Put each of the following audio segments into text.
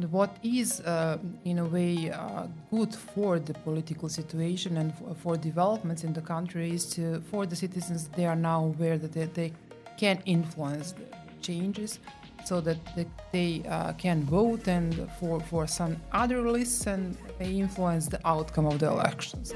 what is, in a way, good for the political situation and for developments in the country is for the citizens, they are now aware that they can influence the changes so that they can vote and for some other lists and they influence the outcome of the elections.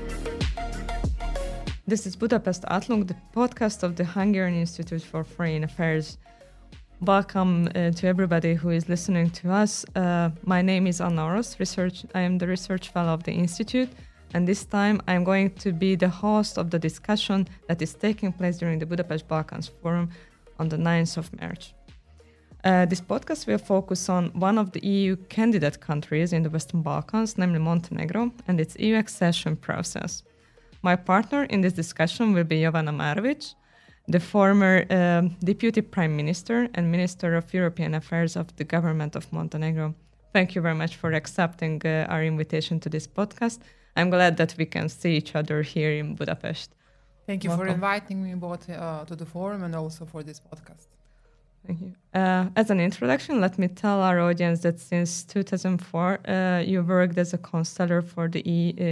This is Budapest Átlag, the podcast of the Hungarian Institute for Foreign Affairs. Welcome to everybody who is listening to us. My name is Anna Orosz. I am the research fellow of the Institute, and this time I'm going to be the host of the discussion that is taking place during the Budapest Balkans Forum on the 9th of March. This podcast will focus on one of the EU candidate countries in the Western Balkans, namely Montenegro, and its EU accession process. My partner in this discussion will be Jovana Marovic, the former Deputy Prime Minister and Minister of European Affairs of the government of Montenegro. Thank you very much for accepting our invitation to this podcast. I'm glad that we can see each other here in Budapest. Thank you Welcome. for inviting me both to the forum and also for this podcast. Thank you. As an introduction, let me tell our audience that since 2004, you worked as a counselor for the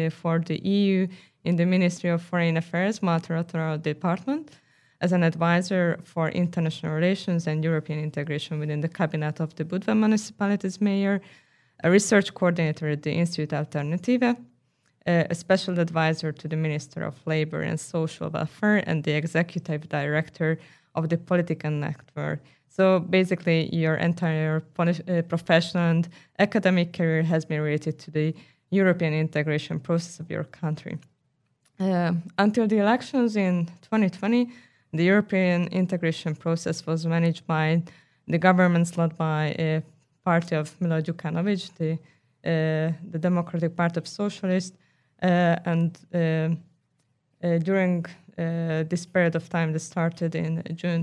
EU in the Ministry of Foreign Affairs multilateral department, as an advisor for international relations and European integration within the cabinet of the Budva municipality's mayor, a research coordinator at the Institute Alternativa, a special advisor to the Minister of Labour and Social Welfare, and the executive director of the Political Network. So basically, your entire professional and academic career has been related to the European integration process of your country. Until the elections in 2020, the European integration process was managed by the governments led by a party of Milo Djukanovic, the Democratic Party of Socialists, and during this period of time that started in June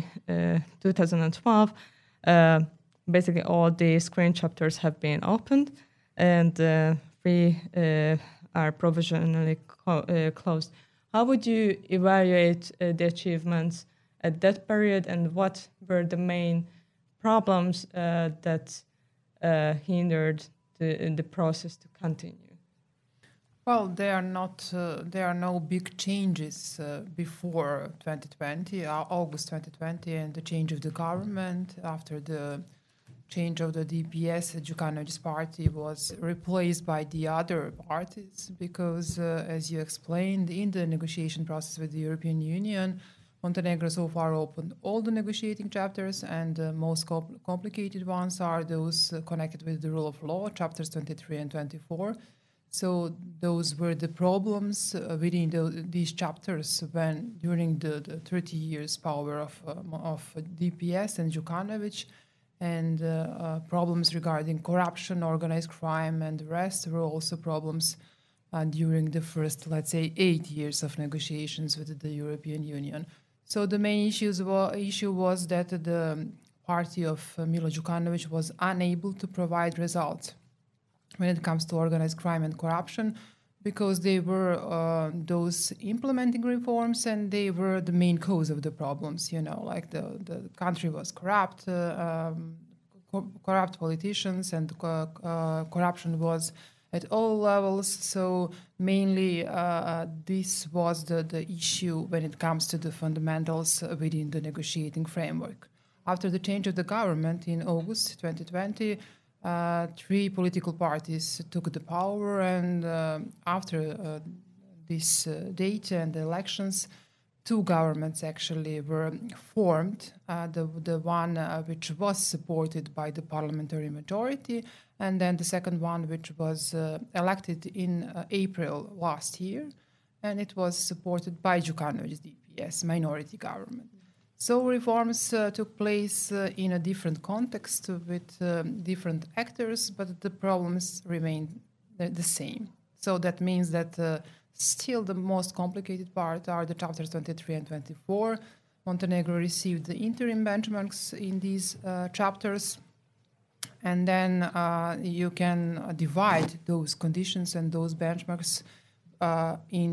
2012, basically all the screen chapters have been opened and three are provisionally closed. How would you evaluate the achievements at that period, and what were the main problems that hindered the process to continue? Well, there are no big changes before 2020, August 2020, and the change of the government. After the change of the DPS, Djukanovic's party was replaced by the other parties because, as you explained, in the negotiation process with the European Union, Montenegro so far opened all the negotiating chapters, and the most complicated ones are those connected with the rule of law, chapters 23 and 24. So those were the problems within these chapters when during the 30 years power of DPS and Djukanovic, and problems regarding corruption, organized crime, and the rest were also problems during the first, let's say, 8 years of negotiations with the European Union. So the main issue was that the party of Milo Djukanovic was unable to provide results when it comes to organized crime and corruption, because they were those implementing reforms and they were the main cause of the problems, like the country was corrupt, corrupt politicians, and corruption was at all levels. So mainly this was the issue when it comes to the fundamentals within the negotiating framework. After the change of the government in August 2020, three political parties took the power, and after this date and the elections, two governments actually were formed. The one which was supported by the parliamentary majority, and then the second one which was elected in April last year, and it was supported by Djukanovic's DPS, minority government. So reforms took place in a different context with different actors, but the problems remained the same. So that means that still the most complicated part are the chapters 23 and 24. Montenegro received the interim benchmarks in these chapters, and then you can divide those conditions and those benchmarks in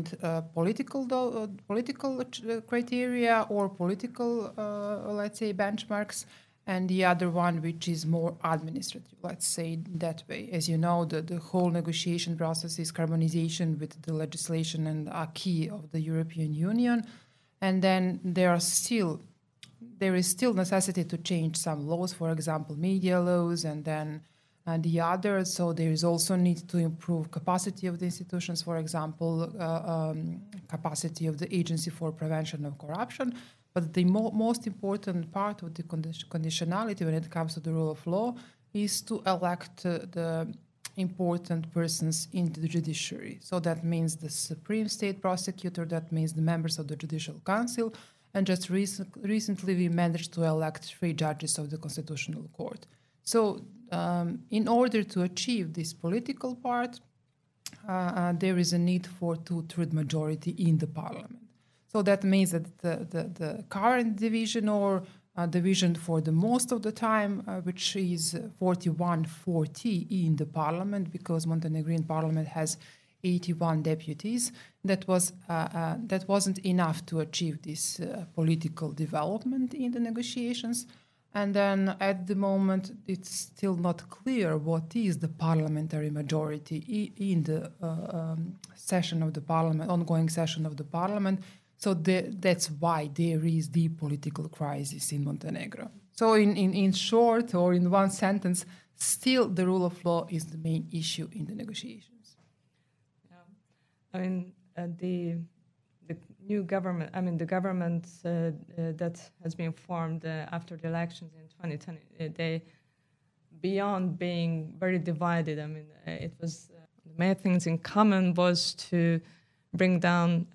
political criteria or political, let's say, benchmarks, and the other one which is more administrative, let's say that way. As you know, the whole negotiation process is harmonization with the legislation and acquis of the European Union, and then there is still necessity to change some laws, for example, media laws, and then the others. So there is also need to improve capacity of the institutions, for example, capacity of the Agency for Prevention of Corruption. But the most important part of the conditionality when it comes to the rule of law is to elect the important persons in the judiciary. So that means the Supreme State Prosecutor, that means the members of the Judicial Council, and just recently we managed to elect 3 judges of the Constitutional Court. So in order to achieve this political part, there is a need for 2/3 majority in the parliament. So that means that the current division or division for the most of the time, which is 41-40 in the parliament, because Montenegrin parliament has 81 deputies, that wasn't enough to achieve this political development in the negotiations. And then at the moment, it's still not clear what is the parliamentary majority in the session of the parliament, ongoing session of the parliament. So that's why there is the political crisis in Montenegro. So in short, or in one sentence, still the rule of law is the main issue in the negotiations. Yeah. I mean, the new government, the government that has been formed after the elections in 2020, they, beyond being very divided, it was, the main things in common was to bring down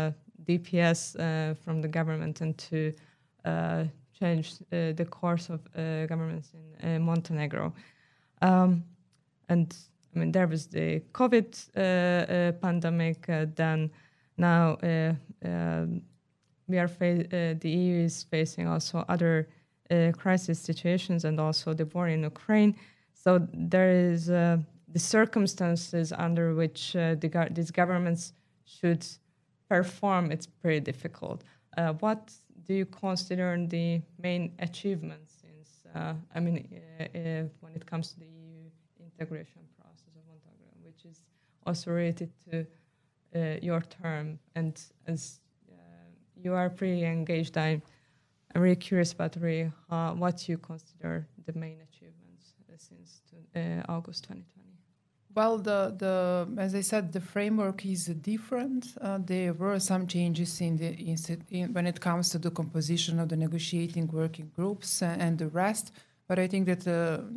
DPS from the government and to change the course of governments in Montenegro. And there was the COVID pandemic. Then now the EU is facing also other crisis situations and also the war in Ukraine. So there is the circumstances under which these governments should perform, it's pretty difficult. What do you consider the main achievements when it comes to the EU integration process of Montenegro, which is also related to your term? And as you are pretty engaged, I'm really curious about what you consider the main achievements since August 2020. Well, as I said, the framework is different. There were some changes when it comes to the composition of the negotiating working groups and the rest. But I think that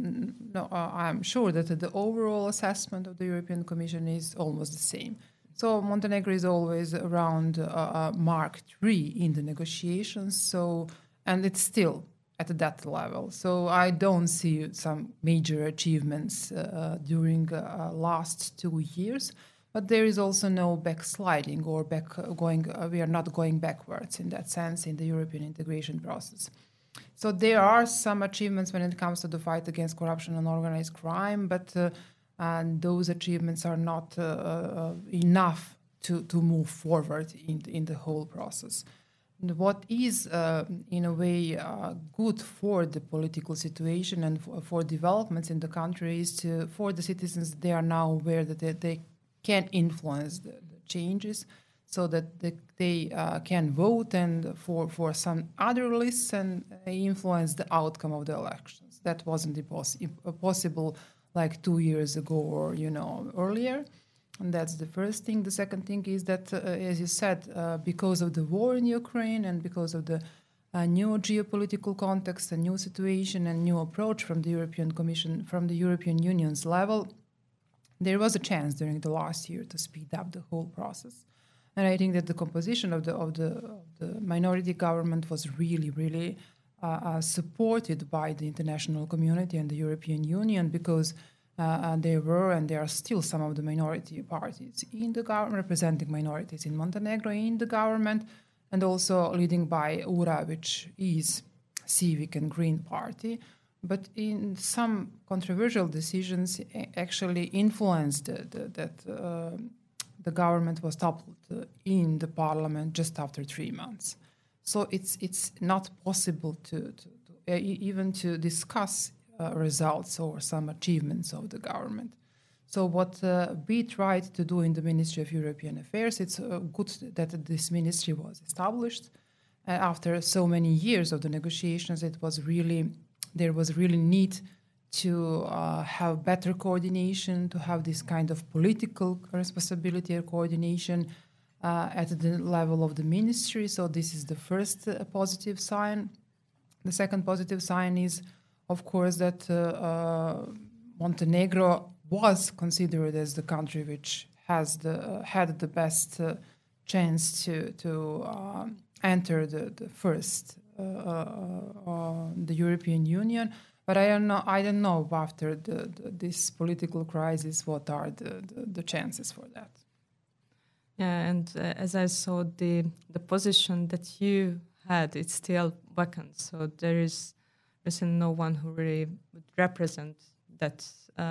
I'm sure that the overall assessment of the European Commission is almost the same. So Montenegro is always around Mark III in the negotiations. And it's still at that level. So I don't see some major achievements during last 2 years, but there is also no backsliding or we are not going backwards in that sense in the European integration process. So there are some achievements when it comes to the fight against corruption and organized crime, but those achievements are not enough to move forward in the whole process. What is, in a way, good for the political situation and for developments in the country is for the citizens, they are now aware that they can influence the changes so that they can vote and for some other lists and influence the outcome of the elections. That wasn't possible like 2 years ago or, earlier. And that's the first thing. The second thing is that, as you said, because of the war in Ukraine and because of the new geopolitical context, a new situation and new approach from the European Commission, from the European Union's level, there was a chance during the last year to speed up the whole process. And I think that the composition of the minority government was really, really supported by the international community and the European Union, because there were and there are still some of the minority parties in the government, representing minorities in Montenegro in the government, and also leading by URA, which is Civic and Green Party. But in some controversial decisions actually influenced that the government was toppled in the parliament just after 3 months. So it's not possible to even to discuss results or some achievements of the government. So what we tried to do in the Ministry of European Affairs, it's good that this ministry was established. After so many years of the negotiations, there was really need to have better coordination, to have this kind of political responsibility or coordination at the level of the ministry. So this is the first positive sign. The second positive sign is, of course, that Montenegro was considered as the country which has had the best chance to enter the first the European Union. But I don't know after this political crisis what are the chances for that. Yeah, and as I saw, the position that you had, it's still vacant. So there is no one who really would represent that.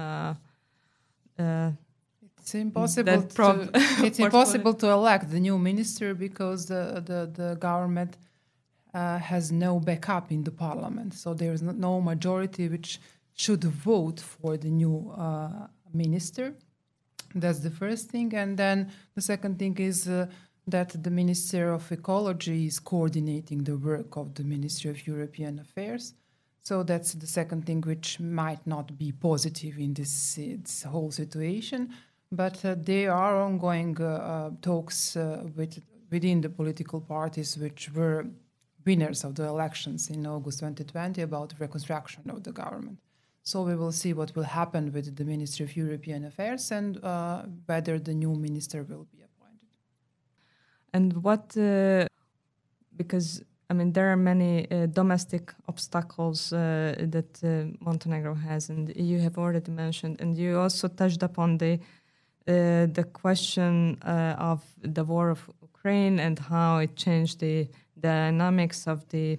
It's impossible. It's impossible to elect the new minister because the government has no backup in the parliament. So there is no majority which should vote for the new minister. That's the first thing. And then the second thing is that the Minister of Ecology is coordinating the work of the Ministry of European Affairs. So that's the second thing which might not be positive in this whole situation. But there are ongoing talks within the political parties which were winners of the elections in August 2020 about reconstruction of the government. So we will see what will happen with the Ministry of European Affairs and whether the new minister will be appointed. And what, because I mean, there are many domestic obstacles that Montenegro has, and you have already mentioned, and you also touched upon the question of the war of Ukraine and how it changed the dynamics of the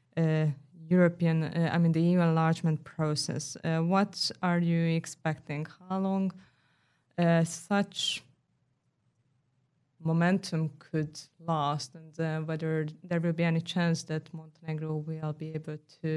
the EU enlargement process. What are you expecting? How long such momentum could last, and whether there will be any chance that Montenegro will be able to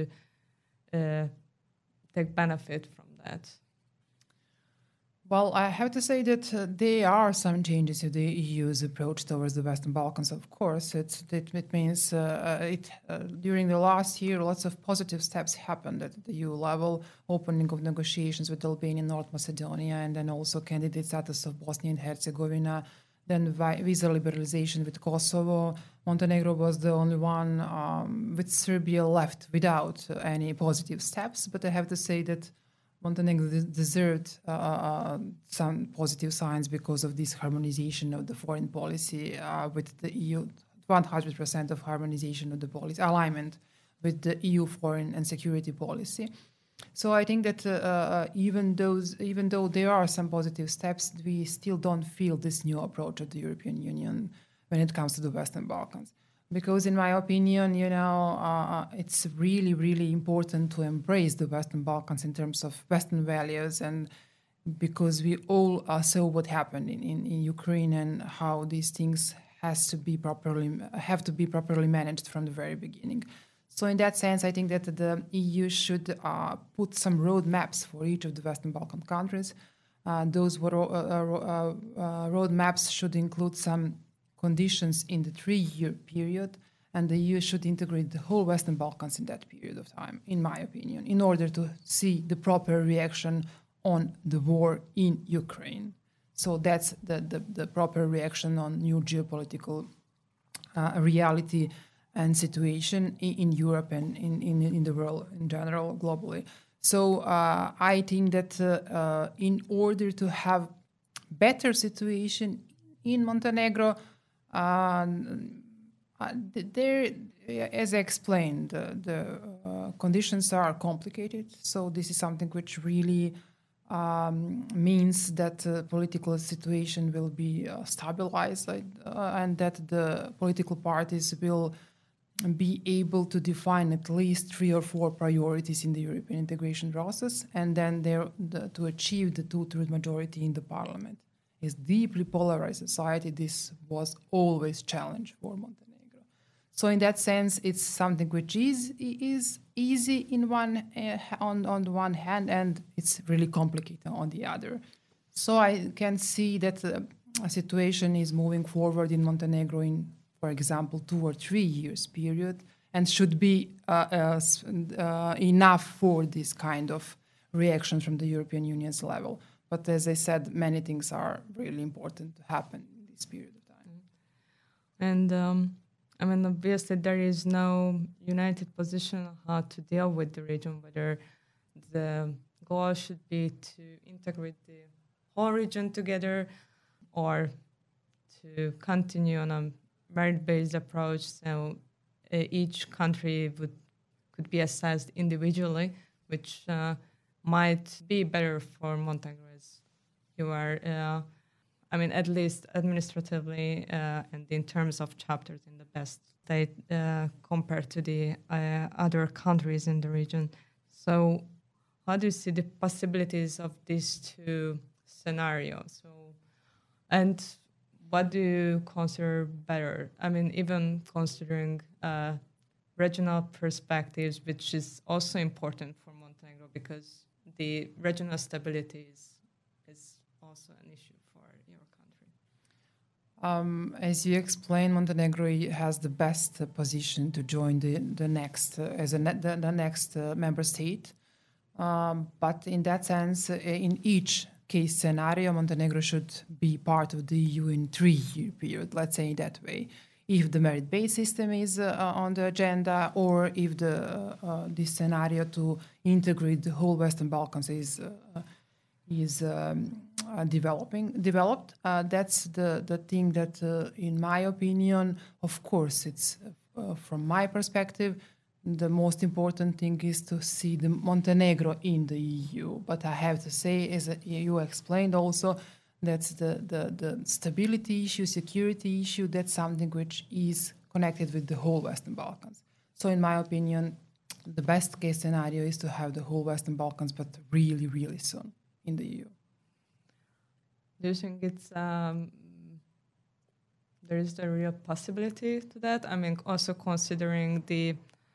take benefit from that? Well, I have to say that there are some changes in the EU's approach towards the Western Balkans, of course. It means during the last year, lots of positive steps happened at the EU level, opening of negotiations with Albania and North Macedonia, and then also candidate status of Bosnia and Herzegovina, then visa liberalization with Kosovo. Montenegro was the only one with Serbia left without any positive steps, but I have to say that Montenegro deserved some positive signs because of this harmonization of the foreign policy with the EU, 100% of harmonization of the policy, alignment with the EU foreign and security policy. So I think that even though there are some positive steps, we still don't feel this new approach of the European Union when it comes to the Western Balkans. Because in my opinion, it's really, really important to embrace the Western Balkans in terms of Western values, and because we all saw what happened in Ukraine and how these things have to be properly managed from the very beginning. So in that sense, I think that the EU should put some roadmaps for each of the Western Balkan countries. Those roadmaps should include some conditions in the 3-year period, and the EU should integrate the whole Western Balkans in that period of time, in my opinion, in order to see the proper reaction on the war in Ukraine. So that's the proper reaction on new geopolitical reality and situation in Europe and in the world in general, globally. So I think that in order to have better situation in Montenegro, there, as I explained, the conditions are complicated. So this is something which really means that the political situation will be stabilized, and that the political parties will be able to define at least 3 or 4 priorities in the European integration process, and then to achieve the 2/3 majority in the parliament. It's deeply polarized society. This was always challenge for Montenegro. So in that sense, it's something which is easy in on the one hand, and it's really complicated on the other. So I can see that a situation is moving forward in Montenegro in, for example, 2 or 3 years period, and should be enough for this kind of reaction from the European Union's level. But as I said, many things are really important to happen in this period of time. And I mean, obviously, there is no united position on how to deal with the region, whether the goal should be to integrate the whole region together or to continue on a merit-based approach. So each country could be assessed individually, which might be better for Montenegro as you are, I mean, at least administratively and in terms of chapters in the best state compared to the other countries in the region. So how do you see the possibilities of these two scenarios? So, and what do you consider better? I mean, even considering regional perspectives, which is also important for Montenegro because the regional stability is also an issue for your country. As you explained, Montenegro has the best position to join the next the next member state. But in that sense, in each case scenario, Montenegro should be part of the EU in 3-year period, let's say that way. If the merit-based system is on the agenda, or if this scenario to integrate the whole Western Balkans is developed, that's the thing that, in my opinion, of course, it's from my perspective, the most important thing is to see the Montenegro in the EU. But I have to say, as you explained also, that's the stability issue, security issue, that's something which is connected with the whole Western Balkans. So in my opinion, the best case scenario is to have the whole Western Balkans, but really, really soon in the EU. Do you think it's there is a real possibility to that? I mean, also considering the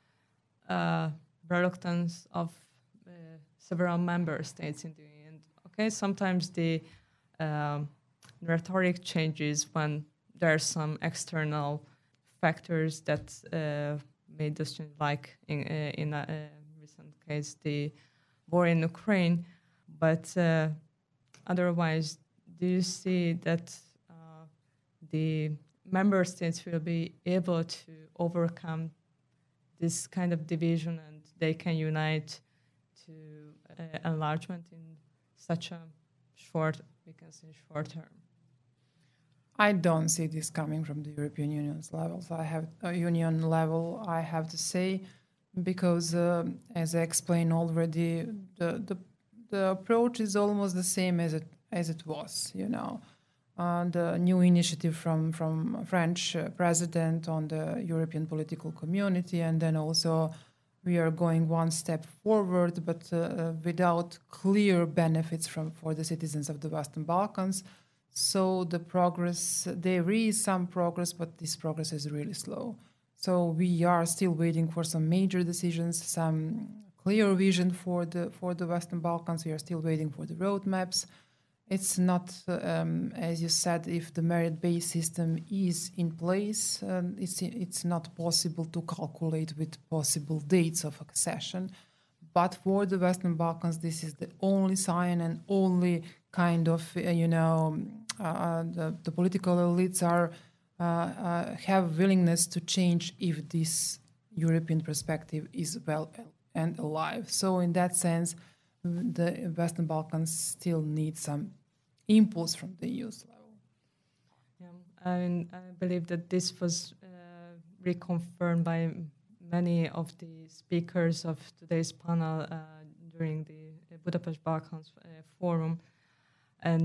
reluctance of several member states in the end. Okay, sometimes the rhetoric changes when there are some external factors that made us change, like in a recent case, the war in Ukraine. But otherwise, do you see that the member states will be able to overcome this kind of division and they can unite to enlargement in such a short term? I don't see this coming from the European Union's levels. I have to say, because as I explained already, the approach is almost the same as it was. The new initiative from French president on the European political community, and then also we are going one step forward, but without clear benefits for the citizens of the Western Balkans. So the progress, there is some progress, but this progress is really slow. So we are still waiting for some major decisions, some clear vision for the Western Balkans. We are still waiting for the roadmaps. It's not, as you said, if the merit-based system is in place, it's not possible to calculate with possible dates of accession. But for the Western Balkans, this is the only sign and only kind of, the political elites have willingness to change if this European perspective is well and alive. So in that sense, the Western Balkans still need some impulse from the EU's level. I believe that this was reconfirmed by many of the speakers of today's panel during the Budapest Balkans Forum. And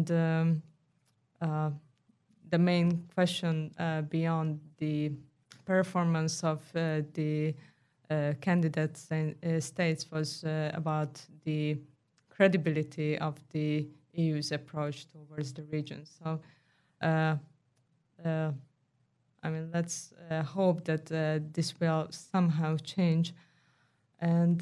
the main question beyond the performance of the candidate states was about the credibility of the EU's approach towards the region. So I mean, let's hope that this will somehow change. And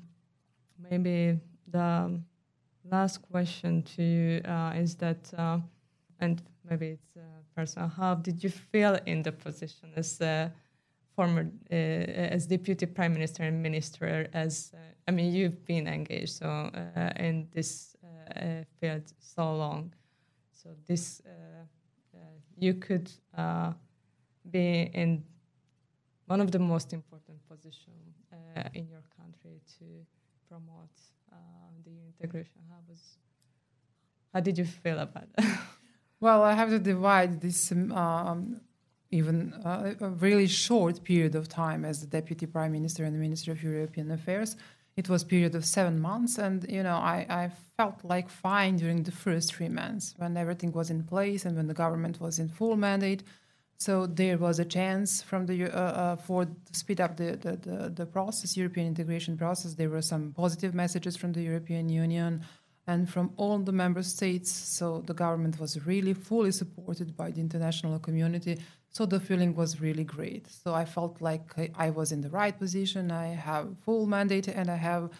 maybe the last question to you is that, and maybe it's personal, how did you feel in the position as former, as deputy prime minister and minister? I mean, you've been engaged so in this field so long, so this you could be in one of the most important positions in your country to promote the integration. How did you feel about it? Well, I have to divide this even a really short period of time as the Deputy Prime Minister and the Minister of European Affairs. It was a period of 7 months, and I felt like fine during the first 3 months when everything was in place and when the government was in full mandate. So there was a chance from for to speed up the process, European integration process. There were some positive messages from the European Union and from all the member states. So the government was really fully supported by the international community. So the feeling was really great. So I felt like I was in the right position. I have full mandate, and I have,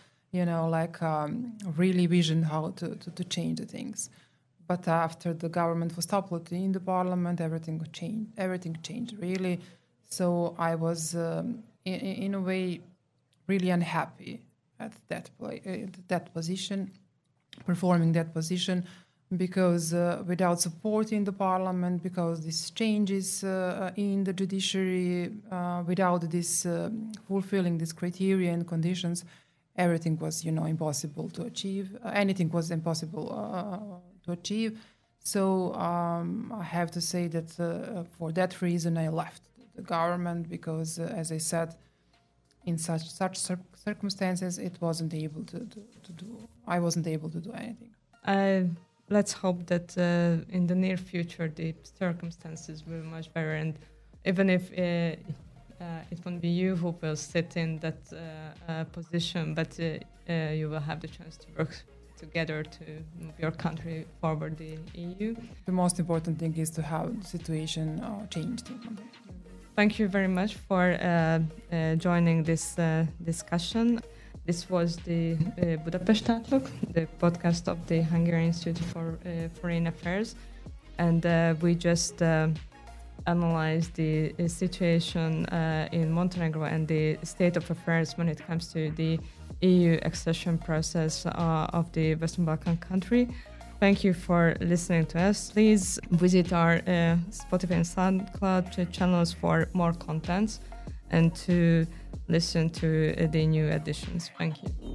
really vision how to change the things. But after the government was toppled in the parliament, everything changed. Everything changed really. So I was, in a way, really unhappy at that position, performing that position, because without support in the parliament, because these changes in the judiciary, without this fulfilling this criteria and conditions, everything was, impossible to achieve. Anything was impossible to achieve. So I have to say that for that reason I left the government, because, as I said, in such circumstances, it wasn't able to do. I wasn't able to do anything. Let's hope that in the near future the circumstances will be much better, and even if it won't be you who will sit in that position, but you will have the chance to work together to move your country forward the EU. The most important thing is to have the situation changed. Thank you very much for joining this discussion. This was the Budapest Outlook, the podcast of the Hungarian Institute for Foreign Affairs, and we just analyzed the situation in Montenegro and the state of affairs when it comes to the EU accession process of the Western Balkan country. Thank you for listening to us. Please visit our Spotify and SoundCloud channels for more contents and to listen to the new editions. Thank you.